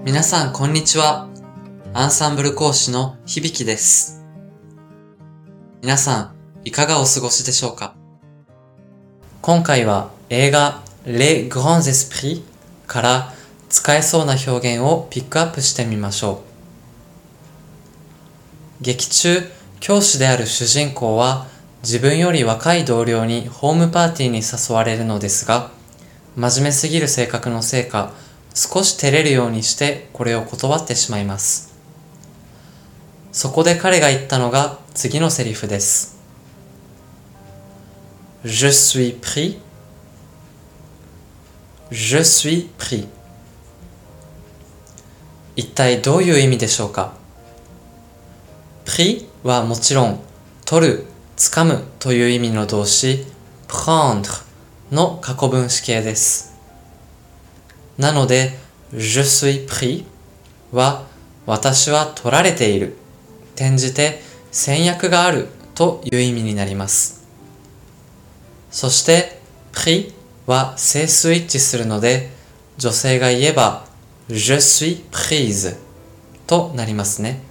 皆さんこんにちは。アンサンブル講師の響です。皆さんいかがお過ごしでしょうか？今回は映画 Les Grands Esprits から使えそうな表現をピックアップしてみましょう。劇中、教師である主人公は自分より若い同僚にホームパーティーに誘われるのですが、真面目すぎる性格のせいか、少し照れるようにしてこれを断ってしまいます。そこで彼が言ったのが次のセリフです。Je suis pris. Je suis pris. 一体どういう意味でしょうか？ pris はもちろん取る、掴むという意味の動詞 prendre の過去分詞形です。なので、je suis pris は私は取られている、転じて先約があるという意味になります。そして、pris は整数一致するので、女性が言えば je suis prise となりますね。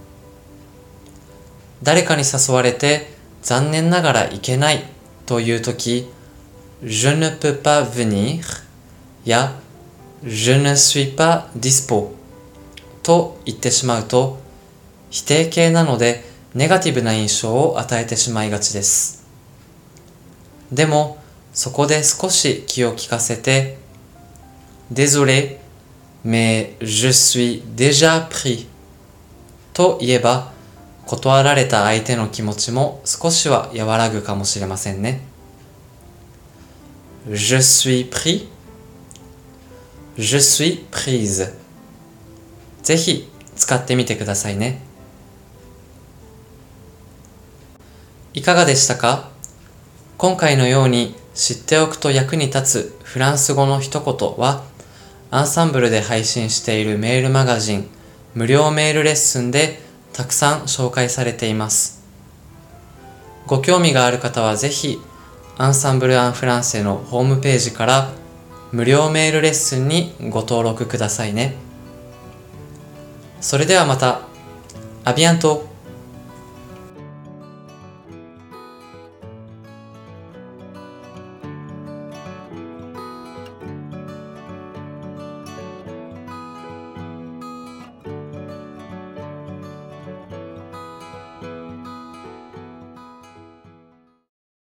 誰かに誘われて残念ながら行けないというとき、je ne peux pas venir やJe ne suis pas dispo と言ってしまうと、否定形なのでネガティブな印象を与えてしまいがちです。でも、そこで少し気を利かせて、Désolé, mais je suis déjà pris と言えば、断られた相手の気持ちも少しは和らぐかもしれませんね。Je suis pris.Je suis prise ぜひ使ってみてくださいね。いかがでしたか？今回のように知っておくと役に立つフランス語の一言はアンサンブルで配信しているメールマガジン無料メールレッスンでたくさん紹介されています。ご興味がある方はぜひアンサンブル・アン・フランセのホームページから無料メールレッスンにご登録くださいね。それではまた。アビアント。